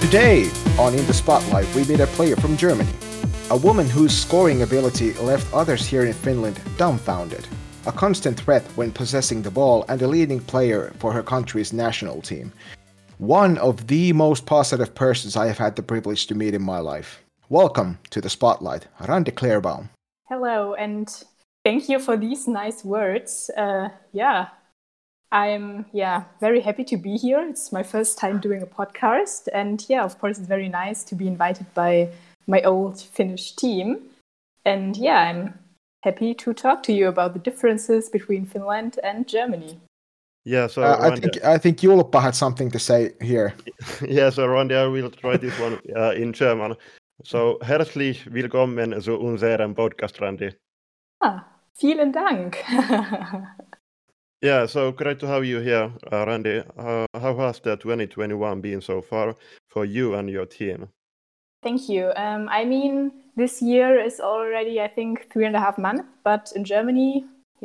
Today, on In the Spotlight, we meet a player from Germany. A woman whose scoring ability left others here in Finland dumbfounded. A constant threat when possessing the ball and a leading player for her country's national team. One of the most positive persons I have had the privilege to meet in my life. Welcome to the Spotlight, Randi Claerbaum. Hello, and thank you for these nice words. I'm very happy to be here. It's my first time doing a podcast, and of course, it's very nice to be invited by my old Finnish team. And I'm happy to talk to you about the differences between Finland and Germany. Yeah, so I think Julppa had something to say here. Yeah, so Randy, I will try this one in German. So herzlich willkommen zu unserem Podcast, Randy. Vielen Dank. Yeah, so great to have you here, Randy. How has the 2021 been so far for you and your team? Thank you. This year is already, I think, 3.5 months, but in Germany,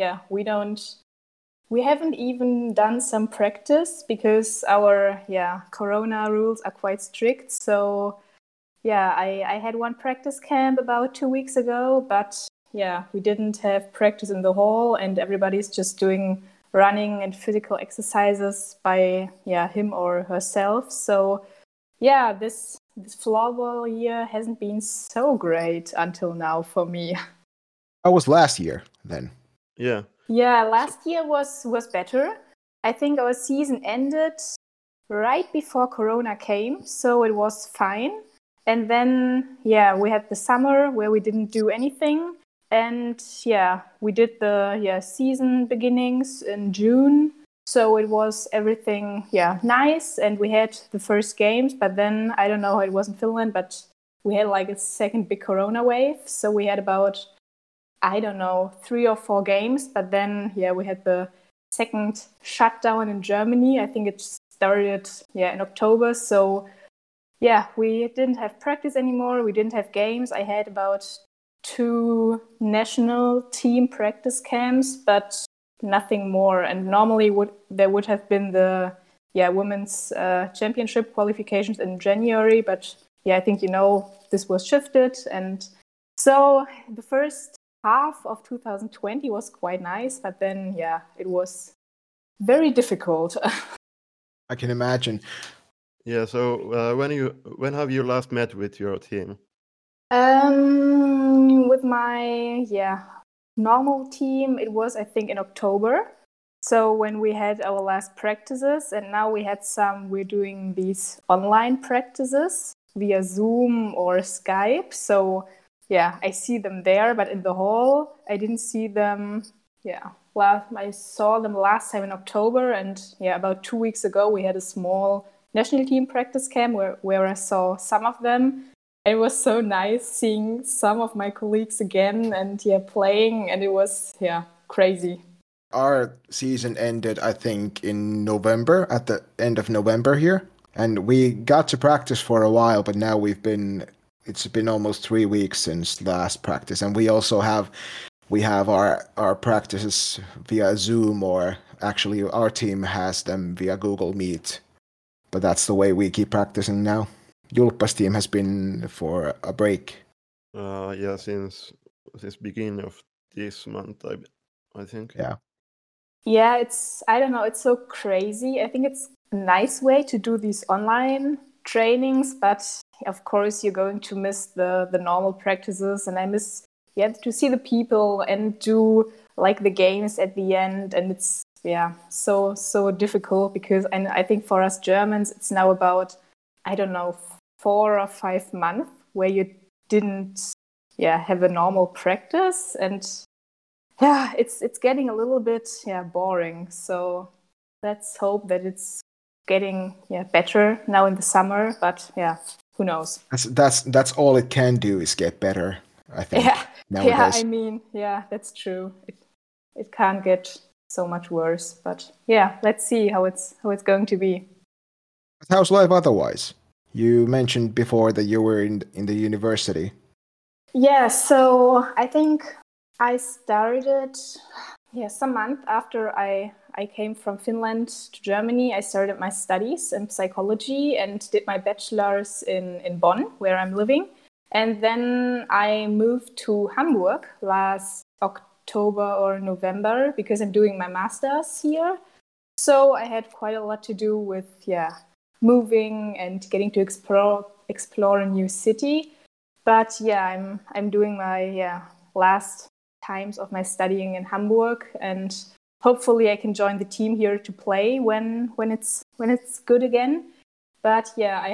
we haven't even done some practice because our Corona rules are quite strict. So I had one practice camp about 2 weeks ago, but we didn't have practice in the hall, and everybody's just doing running and physical exercises by him or herself. So this floorball year hasn't been so great until now for me. How was last year then? Yeah, last year was better. I think our season ended right before Corona came, so it was fine. And then, we had the summer where we didn't do anything. And we did the season beginnings in June. So it was everything, nice. And we had the first games, but then, I don't know how it was in Finland, but we had like a second big Corona wave. So we had about, 3 or 4 games. But then, we had the second shutdown in Germany. I think it started, in October. So, we didn't have practice anymore. We didn't have games. I had about 2 national team practice camps, but nothing more. And normally there would have been the women's championship qualifications in January, but I think this was shifted. And so the first half of 2020 was quite nice, but then it was very difficult. I can imagine. Yeah, so when have you last met with your team? With my normal team, it was, I think, in October. So when we had our last practices, and now we're doing these online practices via Zoom or Skype. So I see them there, but in the hall, I didn't see them. I saw them last time in October, and about 2 weeks ago, we had a small national team practice camp where I saw some of them. It was so nice seeing some of my colleagues again and playing, and it was crazy. Our season ended, I think, in November, at the end of November here. And we got to practice for a while, but now it's been almost 3 weeks since last practice. And we also have our practices via Zoom, or actually our team has them via Google Meet. But that's the way we keep practicing now. Julppa's team has been for a break. Since beginning of this month, I think. Yeah, it's so crazy. I think it's a nice way to do these online trainings, but of course you're going to miss the normal practices, and I miss to see the people and do like the games at the end, and it's so difficult because I think for us Germans it's now about 4 or 5 months where you didn't have a normal practice, and it's getting a little bit boring. So let's hope that it's getting better now in the summer, but who knows. That's all it can do is get better, I think. Nowadays. That's true. It can't get so much worse, but let's see how it's going to be. How's life otherwise? You mentioned before that you were in the university. Yeah, so I think I started some month after I came from Finland to Germany, I started my studies in psychology and did my bachelor's in Bonn, where I'm living. And then I moved to Hamburg last October or November because I'm doing my master's here. So I had quite a lot to do with moving and getting to explore a new city. But I'm doing my last times of my studying in Hamburg, and hopefully I can join the team here to play when it's good again. But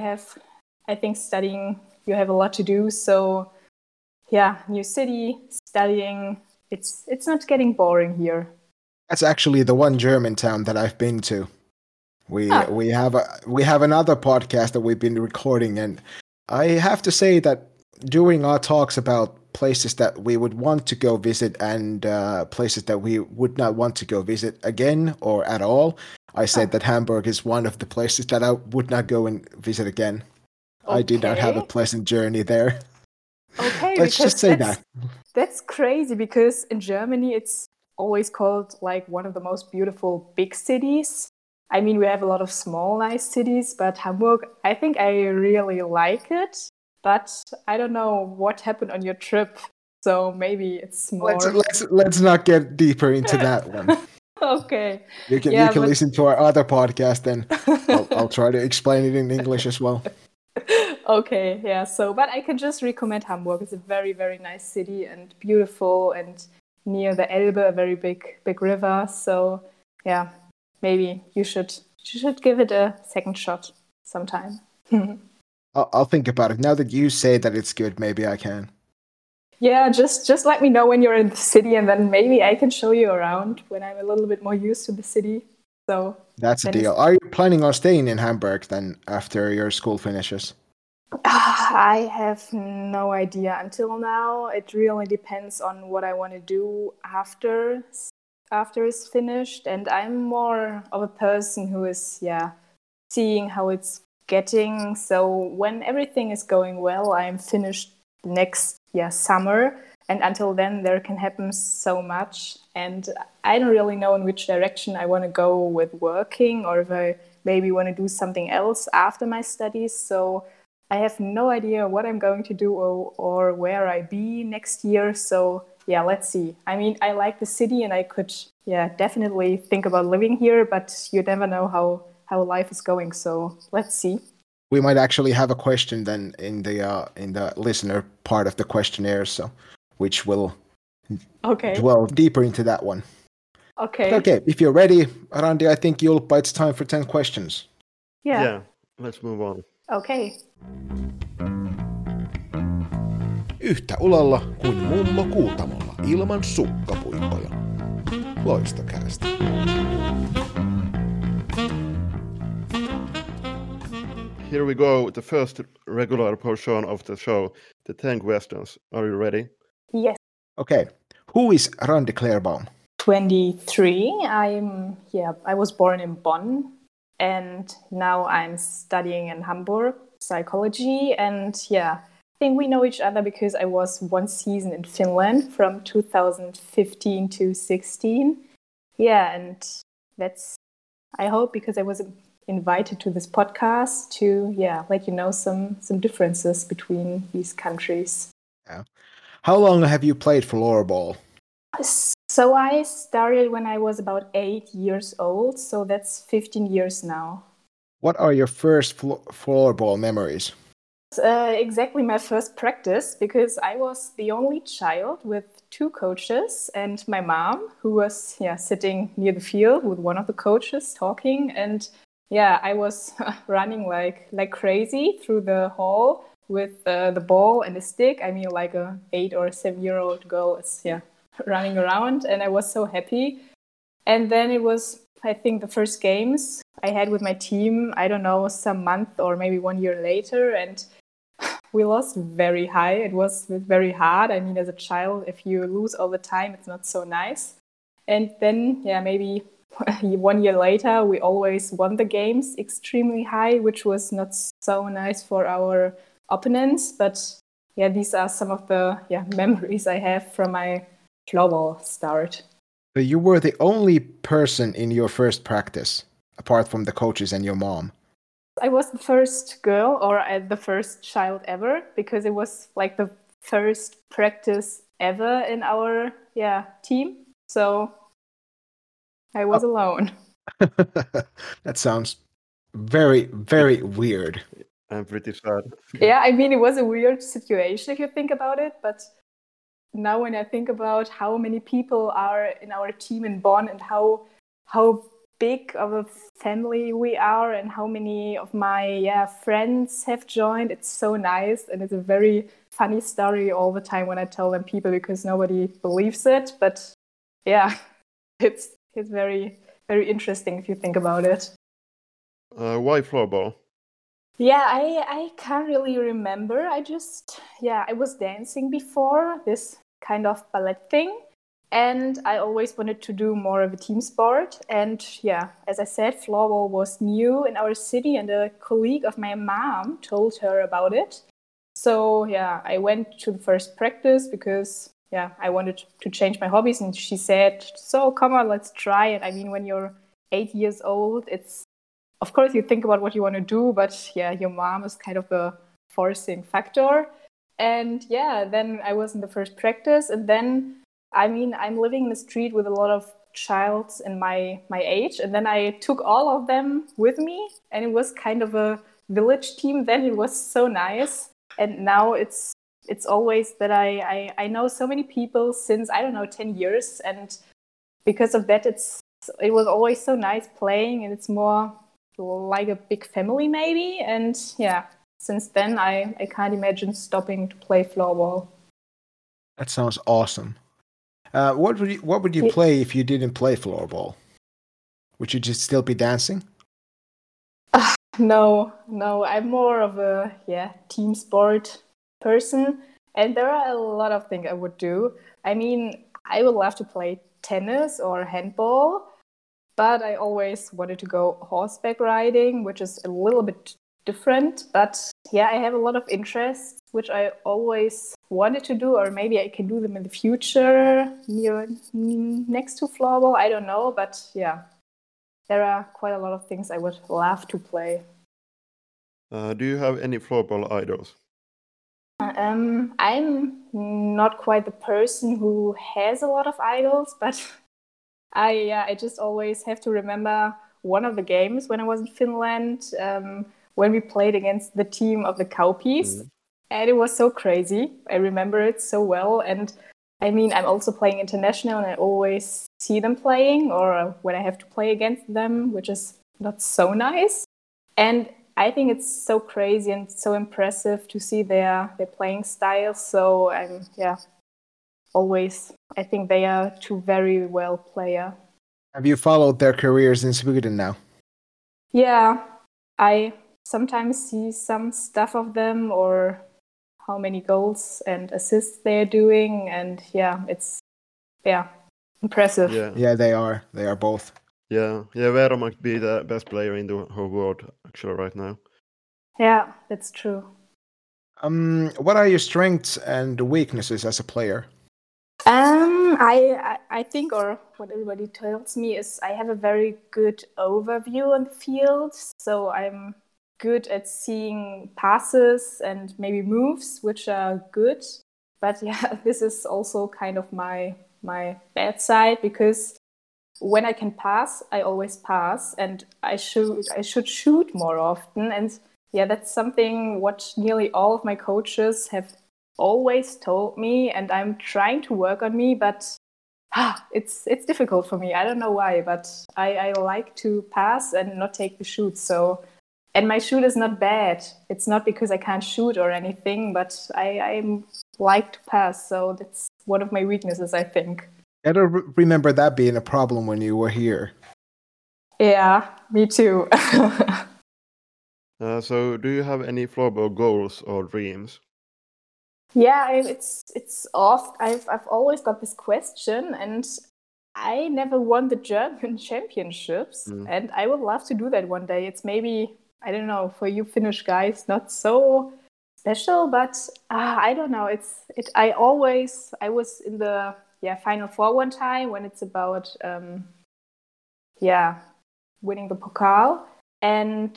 I think studying, you have a lot to do. So new city, studying, it's not getting boring here. That's actually the one German town that I've been to. We have another podcast that we've been recording, and I have to say that during our talks about places that we would want to go visit and places that we would not want to go visit again or at all, I said that Hamburg is one of the places that I would not go and visit again. Okay. I did not have a pleasant journey there. Okay, let's just say that. That's crazy because in Germany it's always called like one of the most beautiful big cities. I mean, we have a lot of small, nice cities, but Hamburg, I think I really like it. But I don't know what happened on your trip, so maybe it's more. Let's not get deeper into that one. Okay. You can listen to our other podcast, and I'll try to explain it in English as well. Okay, yeah. So, but I can just recommend Hamburg. It's a very, very nice city and beautiful, and near the Elbe, a very big river. So, maybe you should give it a second shot sometime. I'll think about it. Now that you say that it's good, maybe I can. Yeah, just let me know when you're in the city, and then maybe I can show you around when I'm a little bit more used to the city. So that's a deal. Are you planning on staying in Hamburg then after your school finishes? I have no idea until now. It really depends on what I want to do after it's finished, and I'm more of a person who is seeing how it's getting. So when everything is going well, I'm finished next summer, and until then there can happen so much, and I don't really know in which direction I want to go with working, or if I maybe want to do something else after my studies. So I have no idea what I'm going to do or where I be next year. So let's see. I mean, I like the city, and I could definitely think about living here, but you never know how life is going. So let's see. We might actually have a question then in the listener part of the questionnaire, so which will dwell deeper into that one. Okay. But okay, if you're ready, Randi, I think it's time for 10 questions. Yeah, let's move on. Okay. Yhtä ulalla kuin mummo Kuutamolla ilman sukkapuikkoja. Loistokäästä. Here we go, the first regular portion of the show, the 10 questions. Are you ready? Yes. Okay. Who is Randi Clairbaum? 23. I was born in Bonn, and now I'm studying in Hamburg, psychology. And I think we know each other because I was one season in Finland from 2015 to 16. And that's, I hope, because I was invited to this podcast to let you know some differences between these countries. Yeah. How long have you played floorball? So I started when I was about 8 years old, so that's 15 years now. What are your first floorball memories? Exactly my first practice, because I was the only child with 2 coaches and my mom, who was sitting near the field with one of the coaches talking, and I was running like crazy through the hall with the ball and a stick. I mean, like a 8 or 7-year-old girl is running around, and I was so happy. And then it was, I think, the first games I had with my team, I don't know, some month or maybe 1 year later, and we lost very high. It was very hard. I mean, as a child, if you lose all the time, it's not so nice. And then, maybe 1 year later, we always won the games extremely high, which was not so nice for our opponents. But these are some of the memories I have from my floorball start. So you were the only person in your first practice, apart from the coaches and your mom. I was the first girl or the first child ever because it was like the first practice ever in our team. So I was alone. That sounds very, very weird. I'm pretty sad. Yeah, I mean, it was a weird situation if you think about it. But now when I think about how many people are in our team in Bonn and how big of a family we are and how many of my friends have joined, it's so nice. And it's a very funny story all the time when I tell them people because nobody believes it. But yeah, it's very, very interesting if you think about it. Why floorball? Yeah, I can't really remember. I was dancing before, this kind of ballet thing. And I always wanted to do more of a team sport. And yeah, as I said, floorball was new in our city, and a colleague of my mom told her about it. So yeah, I went to the first practice because I wanted to change my hobbies. And she said, "So come on, let's try it." I mean, when you're 8 years old, it's of course you think about what you want to do, but yeah, your mom is kind of a forcing factor. And yeah, then I was in the first practice, and then I mean, I'm living in the street with a lot of childs in my age, and then I took all of them with me, and it was kind of a village team. Then it was so nice, and now it's always that I know so many people since I don't know 10 years, and because of that, it was always so nice playing, and it's more like a big family maybe, and yeah. Since then, I can't imagine stopping to play floorball. That sounds awesome. What would you play if you didn't play floorball? Would you just still be dancing? No. I'm more of a team sport person, and there are a lot of things I would do. I mean, I would love to play tennis or handball, but I always wanted to go horseback riding, which is a little bit different. But yeah, I have a lot of interests which I always wanted to do, or maybe I can do them in the future next to floorball. I don't know, but yeah, there are quite a lot of things I would love to play. Do you have any floorball idols? I'm not quite the person who has a lot of idols, but I just always have to remember one of the games when I was in Finland, when we played against the team of the Cowpeas. And it was so crazy. I remember it so well. And I mean, I'm also playing international, and I always see them playing, or when I have to play against them, which is not so nice. And I think it's so crazy and so impressive to see their playing style. So I'm always, I think they are two very well player. Have you followed their careers in Sweden now? Yeah, I sometimes see some stuff of them, or how many goals and assists they're doing, and it's impressive. Yeah, they are both. Yeah, Veera might be the best player in the whole world actually right now. Yeah, that's true. What are your strengths and weaknesses as a player? I think, or what everybody tells me, is I have a very good overview on the field, so I'm good at seeing passes and maybe moves, which are good. But yeah, this is also kind of my bad side, because when I can pass, I always pass, and I should shoot more often. And yeah, that's something what nearly all of my coaches have always told me, and I'm trying to work on me, but it's difficult for me. I don't know why, but I like to pass and not take the shoot. So, and my shoot is not bad. It's not because I can't shoot or anything, but I like to pass. So that's one of my weaknesses, I think. I don't remember that being a problem when you were here. Yeah, me too. So, do you have any floorball goals or dreams? Yeah, it's off. I've always got this question, and I never won the German championships, and I would love to do that one day. It's maybe, I don't know, for you Finnish guys, not so special, but I don't know. I was in the Final Four one time when it's about winning the Pokal. And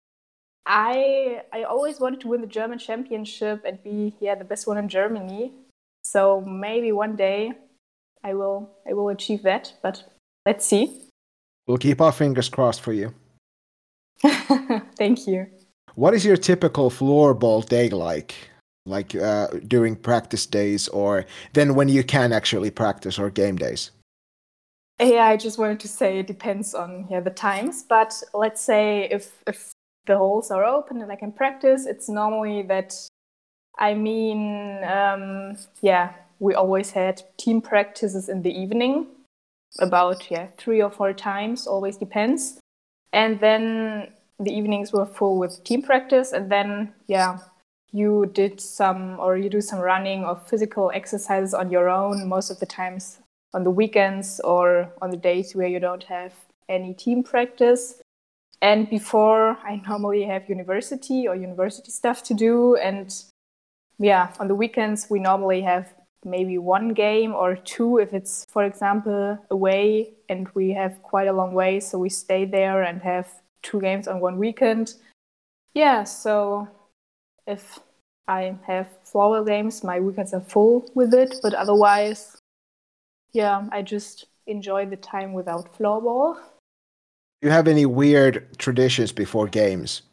I always wanted to win the German championship and be the best one in Germany. So maybe one day I will achieve that, but let's see. We'll keep our fingers crossed for you. Thank you. What is your typical floorball day like? Like during practice days, or then when you can actually practice, or game days? Yeah, I just wanted to say it depends on the times. But let's say if the holes are open and I can practice, it's normally that. I mean, we always had team practices in the evening, about 3 or 4 times. Always depends. And then the evenings were full with team practice, and then you do some running or physical exercises on your own, most of the times on the weekends or on the days where you don't have any team practice. And before, I normally have university stuff to do. And on the weekends, we normally have maybe 1 game or 2 if it's, for example, away and we have quite a long way. So we stay there and have 2 games on 1 weekend. Yeah, so if I have floorball games, my weekends are full with it. But otherwise, I just enjoy the time without floorball. Do you have any weird traditions before games?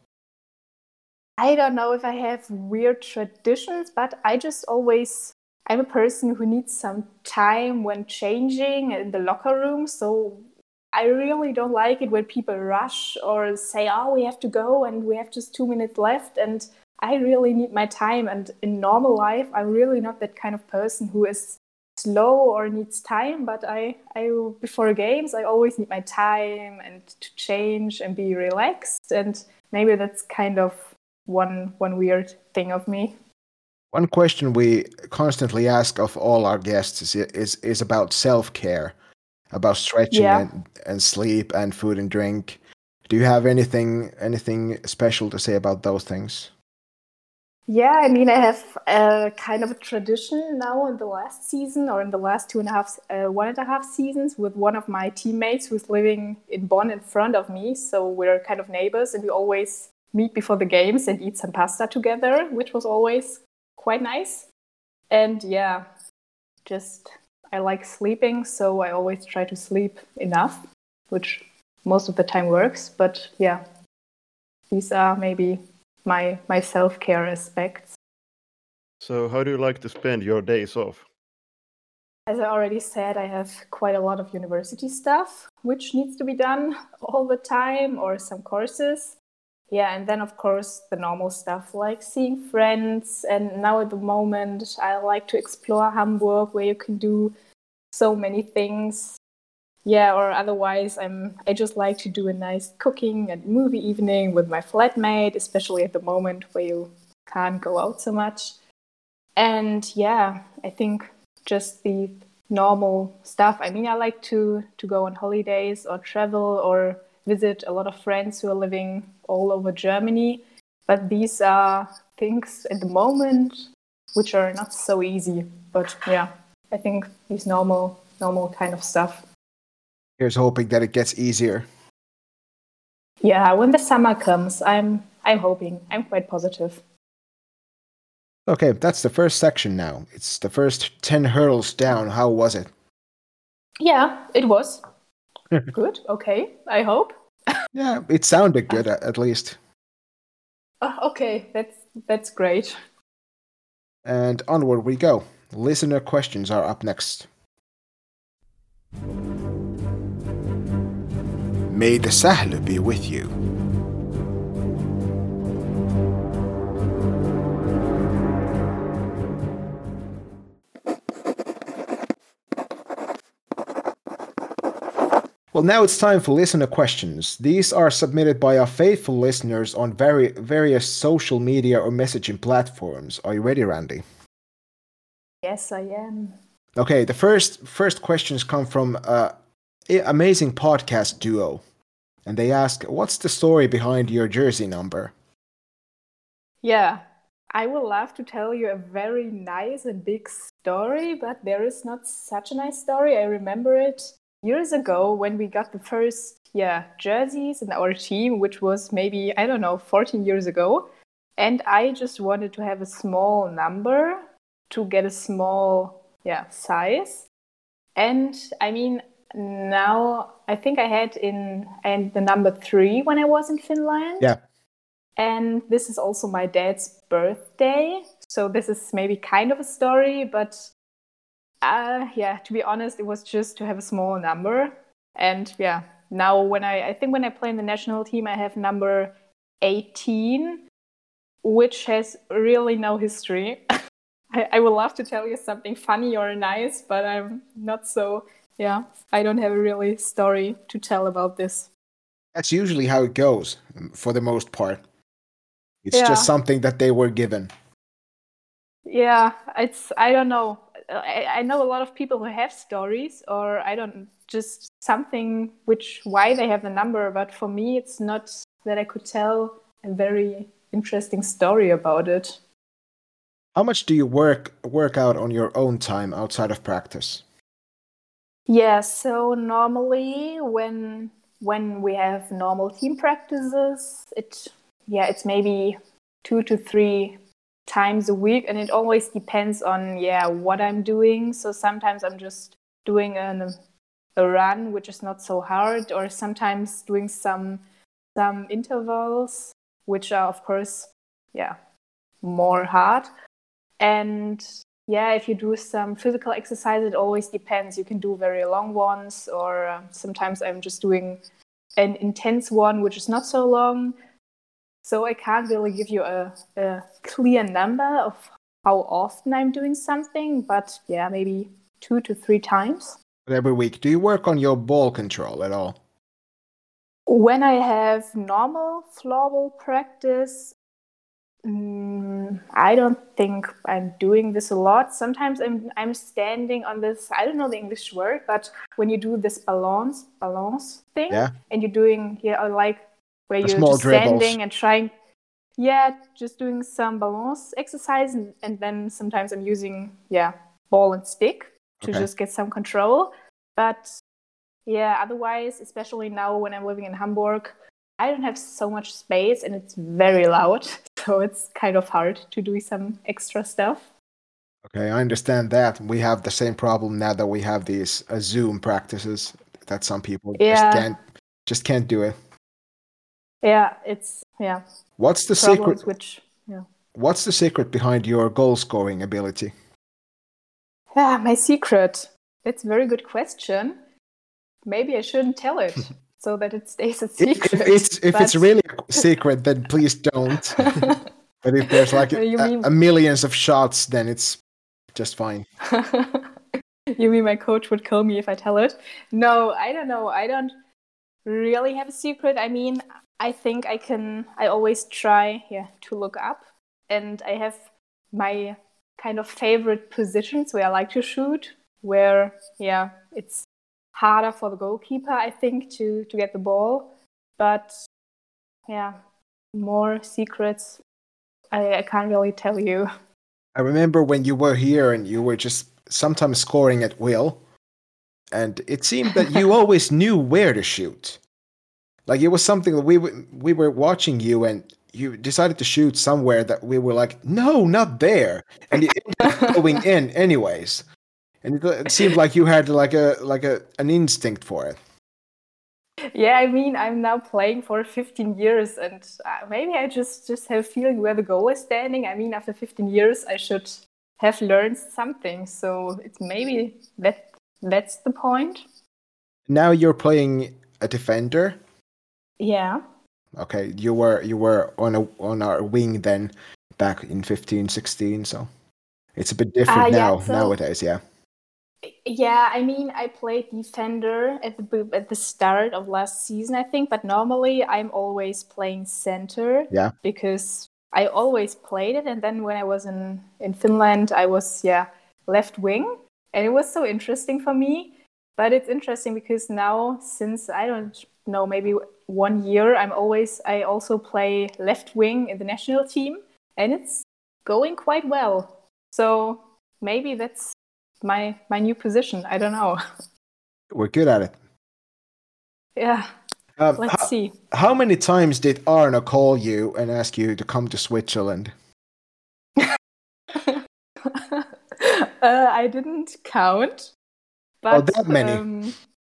I don't know if I have weird traditions, but I'm a person who needs some time when changing in the locker room. So I really don't like it when people rush or say, oh, we have to go and we have just 2 minutes left. And I really need my time. And in normal life, I'm really not that kind of person who is slow or needs time. But I before games, I always need my time and to change and be relaxed. And maybe that's kind of one weird thing of me. One question we constantly ask of all our guests is about self-care, about stretching and sleep and food and drink. Do you have anything special to say about those things? Yeah, I mean, I have a kind of a tradition now in the last season, or in the last 1.5 seasons, with one of my teammates who's living in Bonn in front of me. So we're kind of neighbors, and we always meet before the games and eat some pasta together, which was always quite nice. And I like sleeping, so I always try to sleep enough, which most of the time works. But these are maybe my self-care aspects. So how do you like to spend your days off? As I already said, I have quite a lot of university stuff, which needs to be done all the time, or some courses. Yeah, and then, of course, the normal stuff like seeing friends. And now at the moment, I like to explore Hamburg, where you can do so many things. Yeah, or otherwise, I just like to do a nice cooking and movie evening with my flatmate, especially at the moment where you can't go out so much. And I think just the normal stuff. I mean, I like to go on holidays or travel or visit a lot of friends who are living all over Germany. But these are things at the moment which are not so easy. But I think these normal kind of stuff. Here's hoping that it gets easier. Yeah, when the summer comes, I'm hoping. I'm quite positive. Okay, that's the first section now. It's the first 10 hurdles down. How was it? Yeah, it was. Good, okay, I hope. Yeah, it sounded good at least. Okay, that's great. And onward we go. Listener questions are up next. May the Sähly be with you. Well, now it's time for listener questions. These are submitted by our faithful listeners on various social media or messaging platforms. Are you ready, Randy? Yes, I am. Okay, the first questions come from an amazing podcast duo. And they ask, what's the story behind your jersey number? Yeah, I would love to tell you a very nice and big story, but there is not such a nice story. I remember it years ago when we got the first jerseys in our team, which was maybe, 14 years ago. And I just wanted to have a small number to get a small size. And I mean, now I think I had the number 3 when I was in Finland. Yeah. And this is also my dad's birthday. So this is maybe kind of a story, but to be honest, it was just to have a small number. And now when I play in the national team, I have number 18, which has really no history. I would love to tell you something funny or nice, but I'm not so, I don't have a really story to tell about this. That's usually how it goes for the most part. It's just something that they were given. Yeah, I don't know. I know a lot of people who have stories, or just something why they have the number, but for me, it's not that I could tell a very interesting story about it. How much do you work out on your own time outside of practice? Yeah, so normally when we have normal team practices, it's maybe 2 to 3 times a week, and it always depends on what I'm doing. So sometimes I'm just doing a run, which is not so hard, or sometimes doing some intervals, which are of course more hard. And if you do some physical exercise, it always depends. You can do very long ones, or sometimes I'm just doing an intense one, which is not so long. So I can't really give you a clear number of how often I'm doing something, but maybe 2 to 3 times. Every week. Do you work on your ball control at all? When I have normal floorball practice, I don't think I'm doing this a lot. Sometimes I'm standing on this, I don't know the English word, but when you do this balance thing, and you're doing where you're just standing and trying, just doing some balance exercise, and then sometimes I'm using ball and stick to just get some control. But otherwise, especially now when I'm living in Hamburg, I don't have so much space and it's very loud, so it's kind of hard to do some extra stuff. Okay, I understand that. We have the same problem now that we have these Zoom practices that some people just can't do it. Yeah, What's the secret? What's the secret behind your goal scoring ability? Yeah, my secret. That's a very good question. Maybe I shouldn't tell it so that it stays a secret. If it's really a secret, then please don't. But if there's like a millions of shots, then it's just fine. You mean my coach would kill me if I tell it? No, I don't know. I don't really have a secret. I mean, I think I always try to look up, and I have my kind of favorite positions where I like to shoot, where it's harder for the goalkeeper, I think, to get the ball. But more secrets I can't really tell you. I remember when you were here and you were just sometimes scoring at will, and it seemed that you always knew where to shoot. Like, it was something that we were watching you, and you decided to shoot somewhere that we were like, no, not there, and it ended up going in anyways. And it seemed like you had an instinct for it. Yeah, I mean, I'm now playing for 15 years, and maybe I just have a feeling where the goal is standing. I mean, after 15 years, I should have learned something. So it's maybe that's the point. Now you're playing a defender. Yeah. Okay, you were on our wing then, back in 15-16. So it's a bit different nowadays. Yeah. Yeah, I mean, I played defender at the start of last season, I think, but normally I'm always playing center. Yeah. Because I always played it, and then when I was in Finland, I was left wing, and it was so interesting for me. But it's interesting because now, since I don't know, maybe 1 year, I also play left wing in the national team, and it's going quite well. So maybe that's my new position. I don't know. We're good at it. Yeah. Let's see. How many times did Arno call you and ask you to come to Switzerland? I didn't count. But, that many?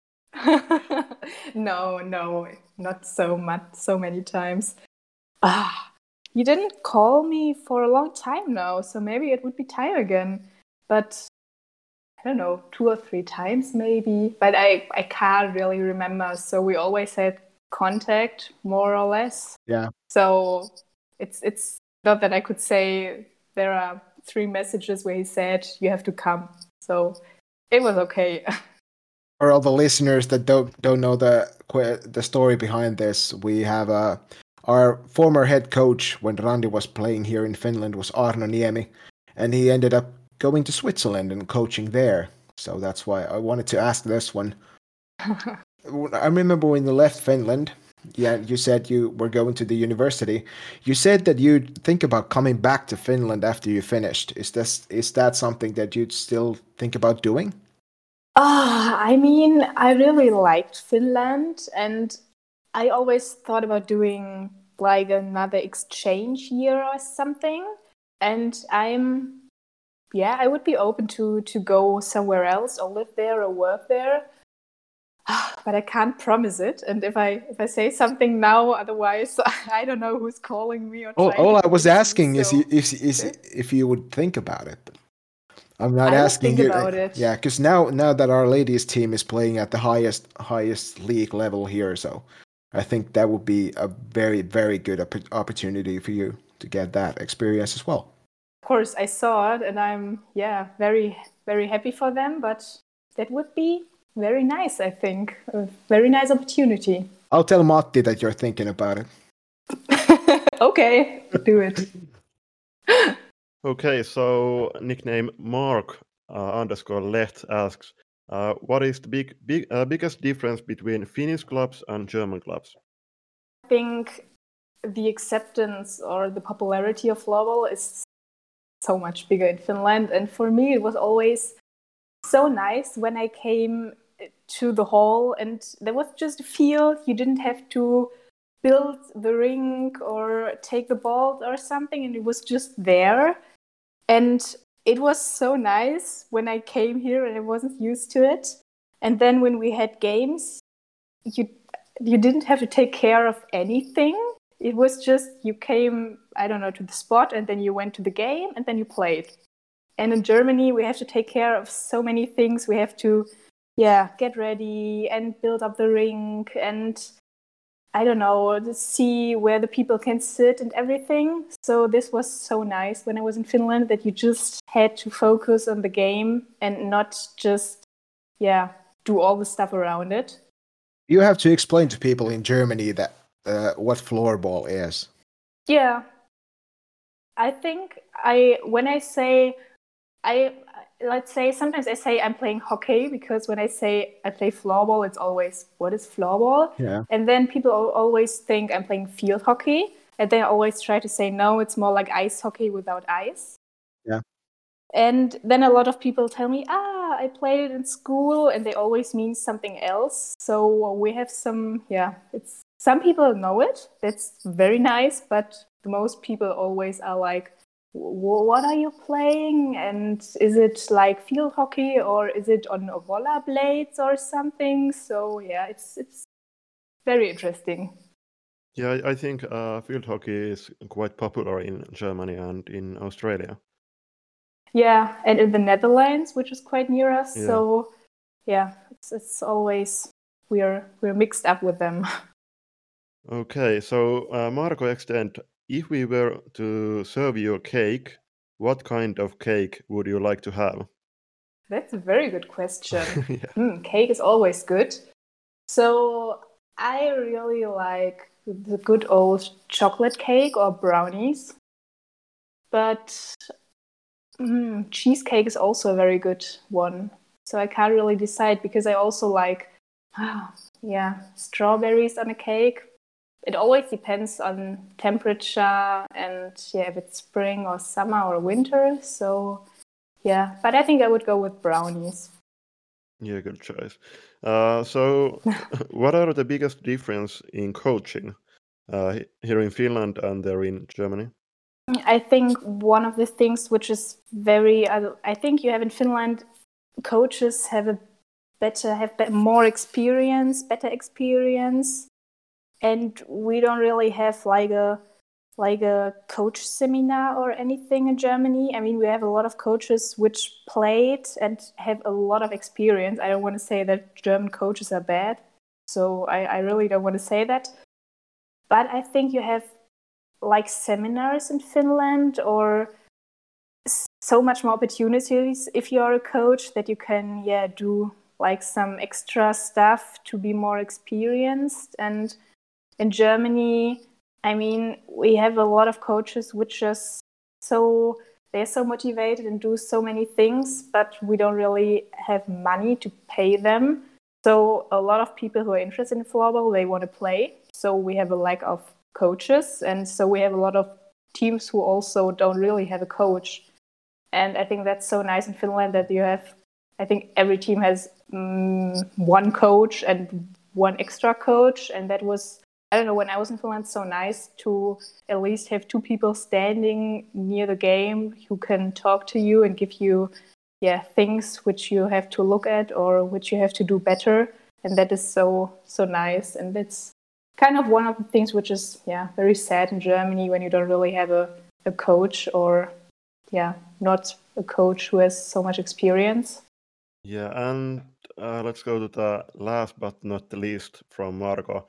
No, not so much, so many times. You didn't call me for a long time now, so maybe it would be time again. But I don't know, 2 or 3 times maybe. But I can't really remember. So we always had contact, more or less. Yeah. So it's not that I could say there are 3 messages where he said you have to come. So it was okay. For all the listeners that don't know the story behind this, we have our former head coach when Randi was playing here in Finland was Arno Niemi, and he ended up going to Switzerland and coaching there. So that's why I wanted to ask this one. I remember when you left Finland, you said you were going to the university. You said that you'd think about coming back to Finland after you finished. Is that something that you'd still think about doing? I mean, I really liked Finland, and I always thought about doing like another exchange year or something. And I would be open to go somewhere else or live there or work there. But I can't promise it. And if I say something now, otherwise I don't know who's calling me or all I was asking is if you would think about it. I'm not asking you. About it. Yeah, because now that our ladies team is playing at the highest league level here, so I think that would be a very, very good opportunity for you to get that experience as well. Of course, I saw it, and I'm very, very happy for them. But that would be very nice. I think a very nice opportunity. I'll tell Matti that you're thinking about it. Okay, do it. Okay, so nickname Mark _Leht asks, what is the biggest difference between Finnish clubs and German clubs? I think the acceptance or the popularity of floorball is so much bigger in Finland. And for me, it was always so nice when I came to the hall and there was just a field. You didn't have to build the rink or take the ball or something, and it was just there. And it was so nice when I came here and I wasn't used to it. And then when we had games, you didn't have to take care of anything. It was just you came, I don't know, to the spot and then you went to the game and then you played. And in Germany, we have to take care of so many things. We have to, get ready and build up the rink and I don't know, to see where the people can sit and everything. So this was so nice when I was in Finland that you just had to focus on the game and not just, do all the stuff around it. You have to explain to people in Germany that what floorball is. Yeah. I think let's say sometimes I say I'm playing hockey because when I say I play floorball, it's always, what is floorball? Yeah. And then people always think I'm playing field hockey. And they always try to say, no, it's more like ice hockey without ice. Yeah. And then a lot of people tell me, I played it in school, and they always mean something else. So we have some people know it. That's very nice. But most people always are like, what are you playing? And is it like field hockey or is it on roller blades or something? So it's very interesting. Yeah, I think field hockey is quite popular in Germany and in Australia. Yeah, and in the Netherlands, which is quite near us. Yeah. So it's always we're mixed up with them. Okay, so Marco extend, if we were to serve you a cake, what kind of cake would you like to have? That's a very good question. Cake is always good. So I really like the good old chocolate cake or brownies. But cheesecake is also a very good one. So I can't really decide because I also like, strawberries on a cake. it always depends on temperature and if it's spring or summer or winter. So yeah, but I think I would go with brownies. Yeah, good choice. So, what are the biggest difference in coaching here in Finland and there in Germany? I think one of the things which is I think you have in Finland, coaches have more experience, better experience, and we don't really have like a coach seminar or anything in Germany. I mean, we have a lot of coaches which played and have a lot of experience. I don't want to say that German coaches are bad, so I really don't want to say that. But I think you have like seminars in Finland or so much more opportunities if you're a coach that you can do like some extra stuff to be more experienced. And in Germany, I mean, we have a lot of coaches which just they're so motivated and do so many things, but we don't really have money to pay them. So a lot of people who are interested in floorball, they want to play. So we have a lack of coaches, and so we have a lot of teams who also don't really have a coach. And I think that's so nice in Finland that you have, I think every team has one coach and one extra coach. And that was, I don't know, when I was in Finland, so nice to at least have two people standing near the game who can talk to you and give you things which you have to look at or which you have to do better. And that is so nice. And that's kind of one of the things which is very sad in Germany when you don't really have a coach or not a coach who has so much experience. Yeah, and let's go to the last but not the least from Margo.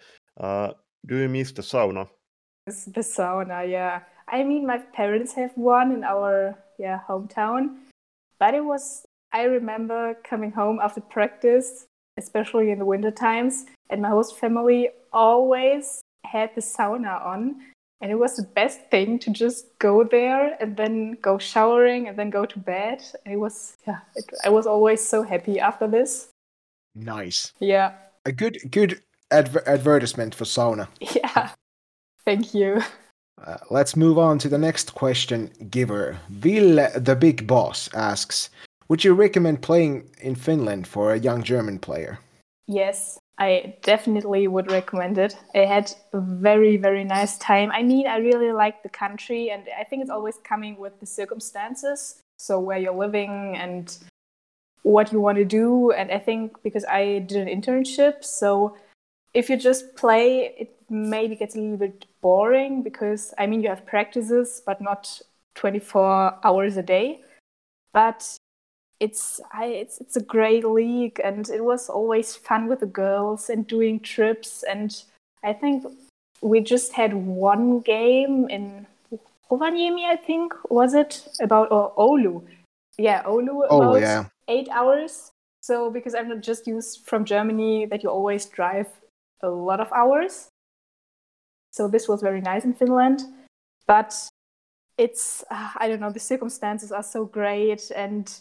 Do you miss the sauna? The sauna, yeah. I mean, my parents have one in our hometown, but I remember coming home after practice, especially in the winter times, and my host family always had the sauna on. And it was the best thing to just go there and then go showering and then go to bed. And it was, I was always so happy after this. Nice. Yeah. A good advertisement for sauna. Yeah. Thank you. Let's move on to the next question giver. Ville the Big Boss asks, would you recommend playing in Finland for a young German player? Yes, I definitely would recommend it. I had a very, very nice time. I mean, I really like the country, and I think it's always coming with the circumstances. So where you're living and what you want to do. And I think because I did an internship, so if you just play, it maybe gets a little bit boring because, I mean, you have practices, but not 24 hours a day. But it's a great league, and it was always fun with the girls and doing trips. And I think we just had one game in Rovaniemi, I think, was it? Or Oulu. Yeah, Oulu, about 8 hours. So because I'm not just used from Germany that you always drive a lot of hours. So this was very nice in Finland. But it's, I don't know, the circumstances are so great, and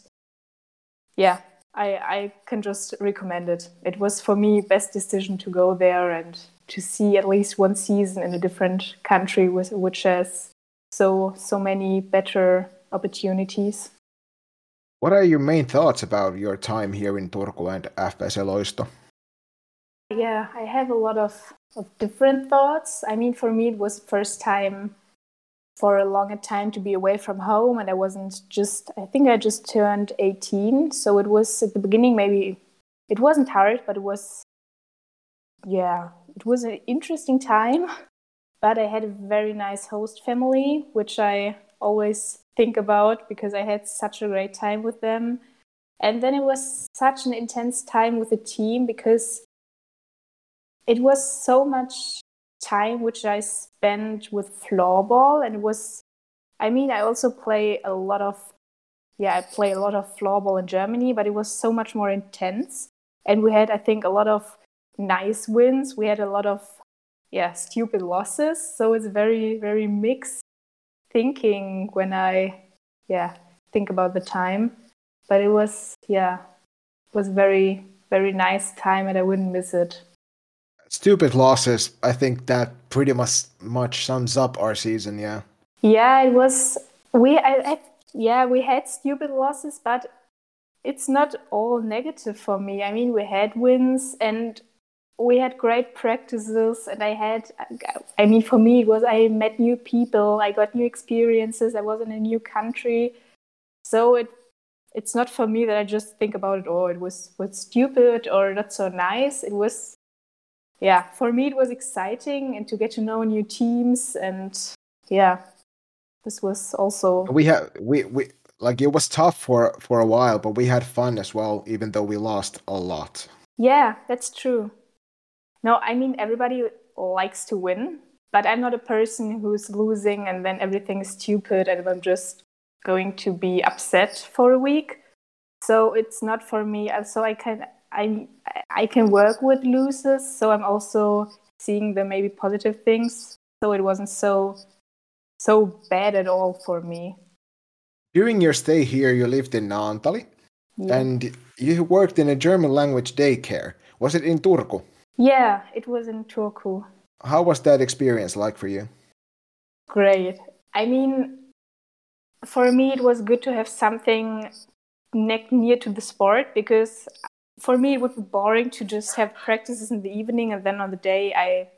I can just recommend it. It was for me best decision to go there and to see at least one season in a different country which has so many better opportunities. What are your main thoughts about your time here in Turku and FPC Loisto? Yeah, I have a lot of different thoughts. I mean, for me, it was first time for a longer time to be away from home, and I think I just turned 18. So it was at the beginning, maybe it wasn't hard, but it was an interesting time. But I had a very nice host family, which I always think about because I had such a great time with them. And then it was such an intense time with the team because it was so much time which I spent with floorball, and I also play a lot of floorball in Germany, but it was so much more intense. And we had, I think, a lot of nice wins. We had a lot of stupid losses. So it's very, very mixed thinking when I think about the time. But it was very, very nice time, and I wouldn't miss it. Stupid losses. I think that pretty much sums up our season. Yeah. Yeah, it was. We had stupid losses, but it's not all negative for me. I mean, we had wins and we had great practices, and for me, it was I met new people, I got new experiences, I was in a new country, so it's not for me that I just think about it. Oh, it was stupid or not so nice. It was, yeah, for me it was exciting and to get to know new teams, and yeah, this was also. We like it was tough for a while, but we had fun as well, even though we lost a lot. Yeah, that's true. No, I mean, everybody likes to win, but I'm not a person who's losing and then everything is stupid and I'm just going to be upset for a week. So it's not for me. So I can work with losers. So I'm also seeing the maybe positive things. So it wasn't so bad at all for me. During your stay here, you lived in Naantali, and you worked in a German language daycare. Was it in Turku? Yeah, it was in Turku. How was that experience like for you? Great. I mean, for me, it was good to have something near to the sport, because for me, it would be boring to just have practices in the evening and then on the day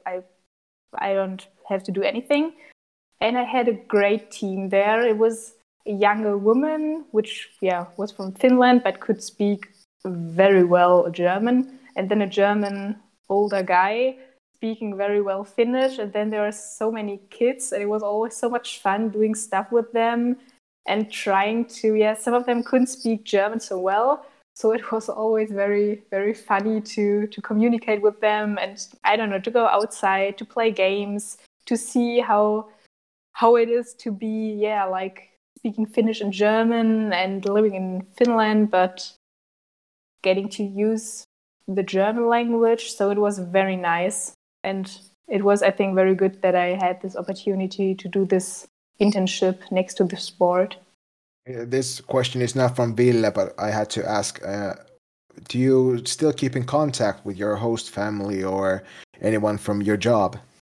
I don't have to do anything. And I had a great team there. It was a younger woman, which was from Finland but could speak very well German, and then a German older guy speaking very well Finnish, and then there are so many kids, and it was always so much fun doing stuff with them and trying to, some of them couldn't speak German so well, so it was always very, very funny to communicate with them, and I don't know, to go outside, to play games, to see how it is to be, like speaking Finnish and German and living in Finland, but getting to use the German language. So it was very nice. And it was, I think, very good that I had this opportunity to do this internship next to the sport. This question is not from Ville, but I had to ask, do you still keep in contact with your host family or anyone from your job?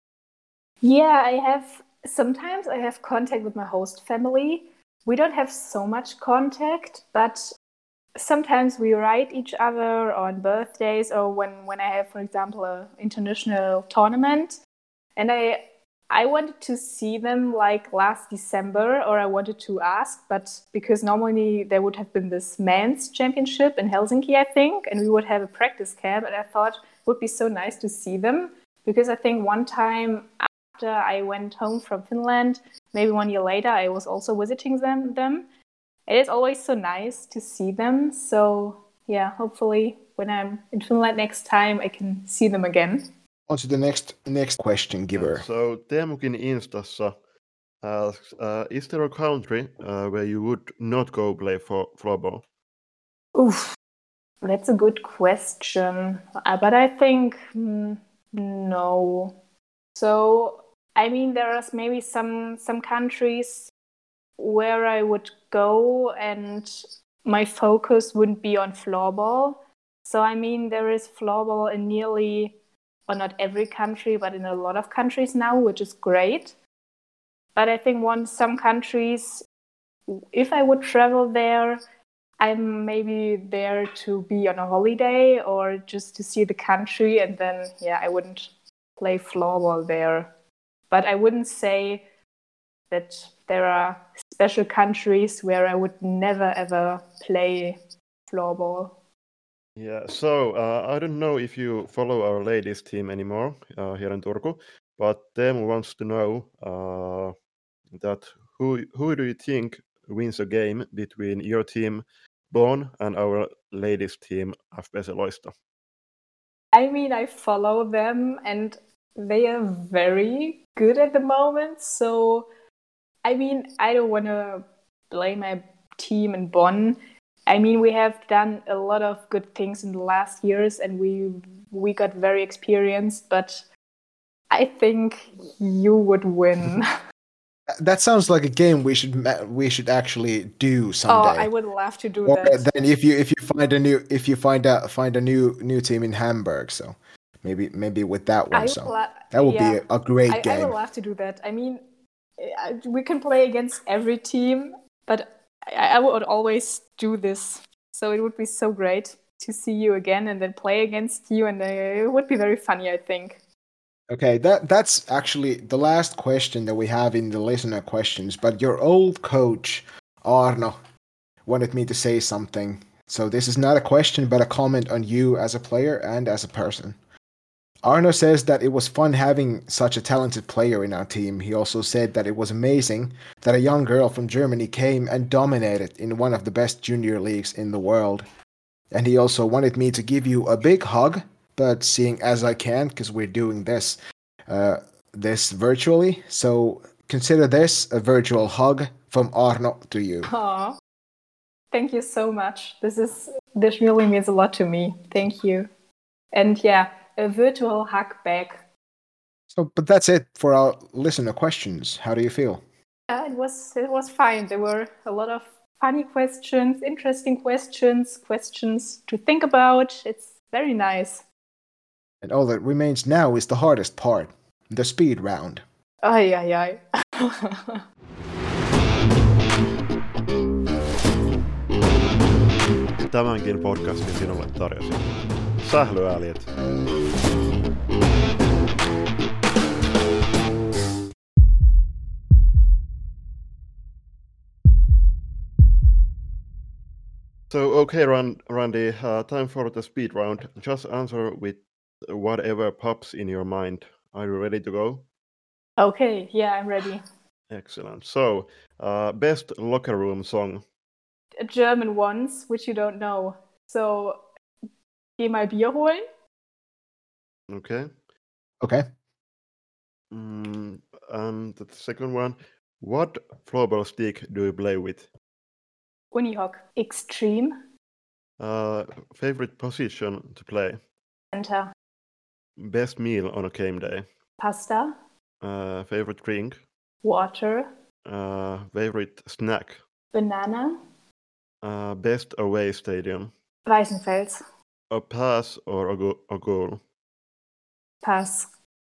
Yeah, sometimes I have contact with my host family. We don't have so much contact, but sometimes we write each other on birthdays or when I have, for example, an international tournament. And I wanted to see them like last December, or I wanted to ask, but because normally there would have been this men's championship in Helsinki, I think, and we would have a practice camp, and I thought it would be so nice to see them, because I think one time after I went home from Finland, maybe 1 year later, I was also visiting them. It is always so nice to see them. So hopefully when I'm in Finland next time, I can see them again. On to the next question giver. So Teemukin Instassa asks, is there a country where you would not go play for floorball? Oof, that's a good question. But I think no. So, I mean, there are maybe some countries where I would go and my focus wouldn't be on floorball. So, I mean, there is floorball in nearly, or not every country, but in a lot of countries now, which is great. But I think some countries, if I would travel there, I'm maybe there to be on a holiday or just to see the country, and then, I wouldn't play floorball there. But I wouldn't say that there are special countries where I would never ever play floorball. Yeah, so I don't know if you follow our ladies team anymore here in Turku, but Teemu wants to know that who do you think wins a game between your team Bonn and our ladies team FPC Loisto? I mean, I follow them and they are very good at the moment. So, I mean, I don't want to blame my team in Bonn. I mean, we have done a lot of good things in the last years and we got very experienced, but I think you would win. That sounds like a game we should actually do someday. Oh, I would love to do or that. Then if you find a new team in Hamburg, so maybe with that one. I So will, that would yeah, be a great I game. would love to do that. I mean, we can play against every team, but I would always do this. So it would be so great to see you again and then play against you, and it would be very funny, I think. Okay, that's actually the last question that we have in the listener questions. But your old coach Arno wanted me to say something. So this is not a question, but a comment on you as a player and as a person. Arno says that it was fun having such a talented player in our team. He also said that it was amazing that a young girl from Germany came and dominated in one of the best junior leagues in the world. And he also wanted me to give you a big hug, but seeing as I can, because we're doing this virtually, so consider this a virtual hug from Arno to you. Aw, thank you so much. This really means a lot to me. Thank you. And yeah, a virtual hug back. So, but that's it for our listener questions. How do you feel? It was fine. There were a lot of funny questions, interesting questions to think about. It's very nice. And all that remains now is the hardest part, the speed round. Ai, ai, ai. Tämänkin podcastin sinulle tarjosi sählyäljet. So, okay, Randy, time for the speed round. Just answer with whatever pops in your mind. Are you ready to go? Okay, yeah, I'm ready. Excellent. So, best locker room song? German ones, which you don't know. So, geh mal Bier holen. Okay. Okay. And the second one, what floorball stick do you play with? Unihock. Extreme. Favorite position to play? Center. Best meal on a game day? Pasta. Favorite drink? Water. Favorite snack? Banana. Best away stadium? Weißenfels. A pass or a goal? Pass.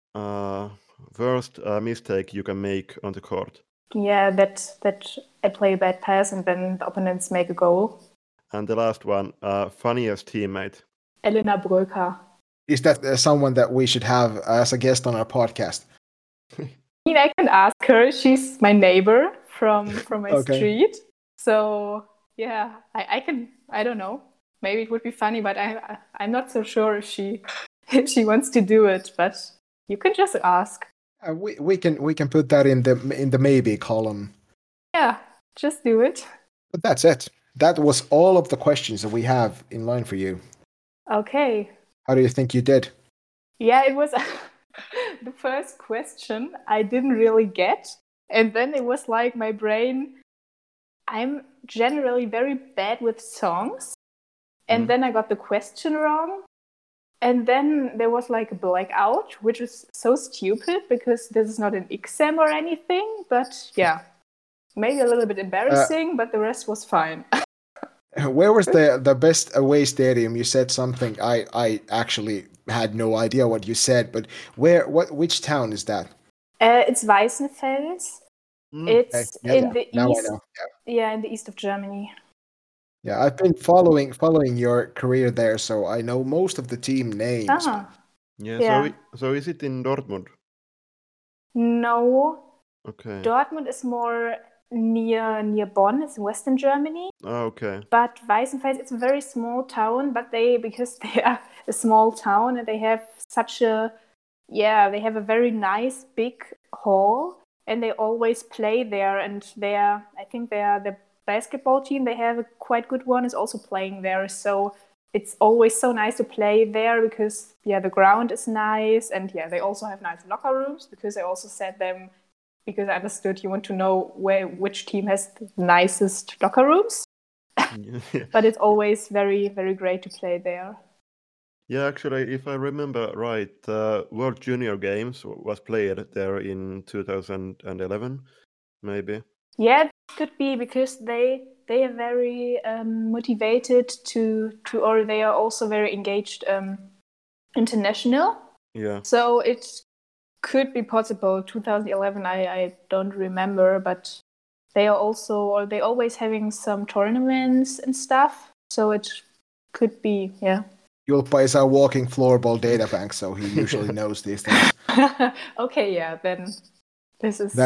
Worst mistake you can make on the court? Yeah, that I play a bad pass and then the opponents make a goal. And the last one, funniest teammate? Elena Bröker. Is that someone that we should have as a guest on our podcast? I mean, I can ask her. She's my neighbor from my Okay. street. So yeah, I can. I don't know. Maybe it would be funny, but I'm not so sure if she wants to do it. But you can just ask. We can put that in the maybe column. Yeah, just do it. But that's it. That was all of the questions that we have in line for you. Okay. How do you think you did? Yeah, it was the first question I didn't really get. And then it was like my brain, I'm generally very bad with songs. And then I got the question wrong. And then there was like a blackout, which is so stupid because this is not an exam or anything. But yeah, maybe a little bit embarrassing, but the rest was fine. Where was the best away stadium? You said something. I actually had no idea what you said, but which town is that? It's Weißenfels. It's in the now east. I know. Yeah, in the east of Germany. Yeah, I've been following your career there, so I know most of the team names. Ah, Yeah. Yeah. So is it in Dortmund? no. Okay. Dortmund is more near Bonn. It's in Western Germany. Okay. But Weißenfels, it's a very small town, but because they are a small town and they have they have a very nice big hall and they always play there, and I think the basketball team, they have a quite good one, is also playing there. So it's always so nice to play there because the ground is nice, and they also have nice locker rooms because I also said them, because I understood you want to know which team has the nicest locker rooms. But it's always very, very great to play there. Yeah, actually, if I remember right, World Junior Games was played there in 2011, maybe. Yeah, it could be because they are very motivated to or they are also very engaged international. Yeah. So it could be possible. 2011, I don't remember, but they always having some tournaments and stuff. So it could be, yeah. Julppa is our walking floorball data bank, so he usually knows these things. Okay, yeah, then this is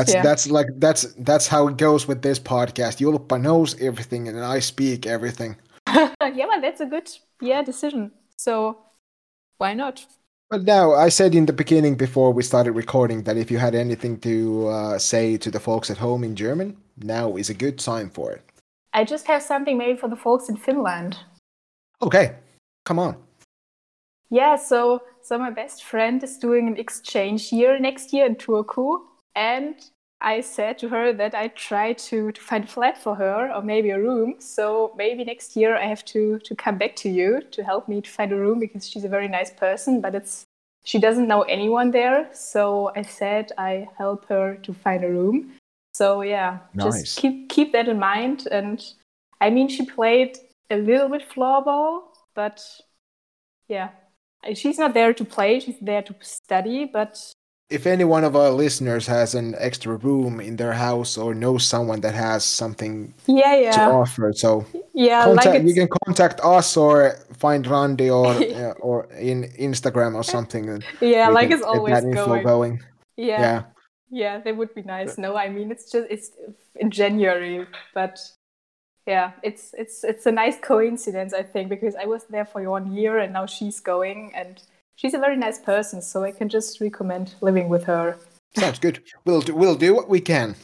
that's how it goes with this podcast. Julppa knows everything, and I speak everything. Yeah, well, that's a good decision. So why not? But now, I said in the beginning before we started recording that if you had anything to say to the folks at home in German, now is a good time for it. I just have something maybe for the folks in Finland. Okay, come on. Yeah, so my best friend is doing an exchange year next year in Turku, and I said to her that I try to find a flat for her or maybe a room. So maybe next year I have to come back to you to help me to find a room, because she's a very nice person, but she doesn't know anyone there. So I said I help her to find a room. So yeah, nice. Just keep that in mind. And I mean, she played a little bit floorball, but yeah, she's not there to play. She's there to study, but if any one of our listeners has an extra room in their house or knows someone that has something to offer, so you can contact us or find Randy or in Instagram or something. Yeah, like it's always that info going. Yeah, that would be nice. No, I mean it's in January, but yeah, it's a nice coincidence, I think, because I was there for 1 year and now she's going, and she's a very nice person, so I can just recommend living with her. Sounds good. We'll do what we can.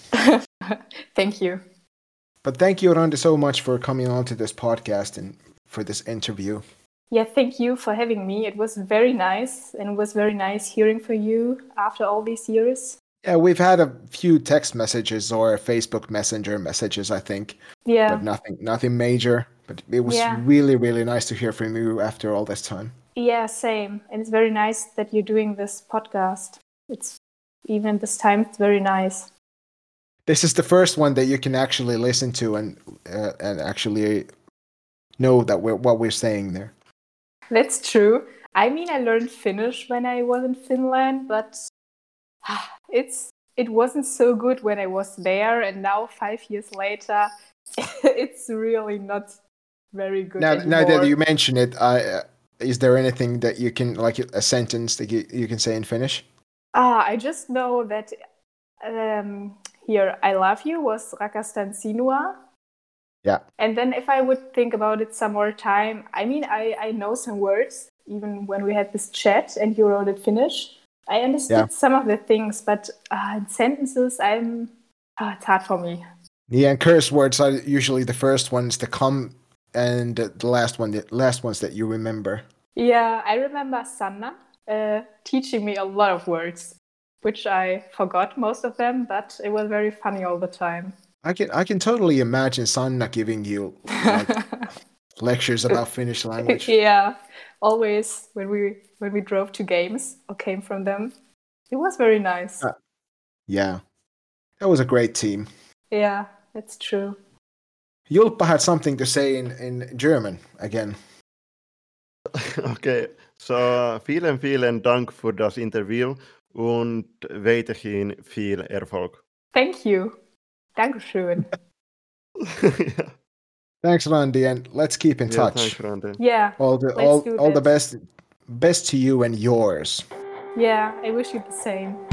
Thank you. But thank you, Randy, so much for coming on to this podcast and for this interview. Yeah, thank you for having me. It was very nice, and it was very nice hearing from you after all these years. Yeah, we've had a few text messages or Facebook Messenger messages, I think. Yeah. But nothing major. But it was really, really nice to hear from you after all this time. Yeah, same. And it's very nice that you're doing this podcast. It's even this time, it's very nice. This is the first one that you can actually listen to and actually know that what we're saying there. That's true. I mean, I learned Finnish when I was in Finland, but it wasn't so good when I was there. And now 5 years later, it's really not very good anymore. Now that you mention it, is there anything that you can, like a sentence that you can say in Finnish? I just know that here, I love you was rakastan sinua. Yeah. And then if I would think about it some more time, I mean, I know some words, even when we had this chat and you wrote it Finnish. I understood some of the things, but in sentences, it's hard for me. Yeah, and curse words are usually the first ones to come, and the last ones that you remember. Yeah, I remember Sanna teaching me a lot of words, which I forgot most of them, but it was very funny all the time. I can totally imagine Sanna giving you lectures about Finnish language. Yeah, always when we drove to games or came from them, it was very nice. Yeah, that was a great team. Yeah, that's true. Julppa had something to say in German again. Okay, so vielen Dank für das Interview und weiterhin viel Erfolg. Thank you. Dankeschön. Yeah. Thanks, Randy, and let's keep in touch. Thanks, Randy. Yeah. All the best to you and yours. Yeah, I wish you the same.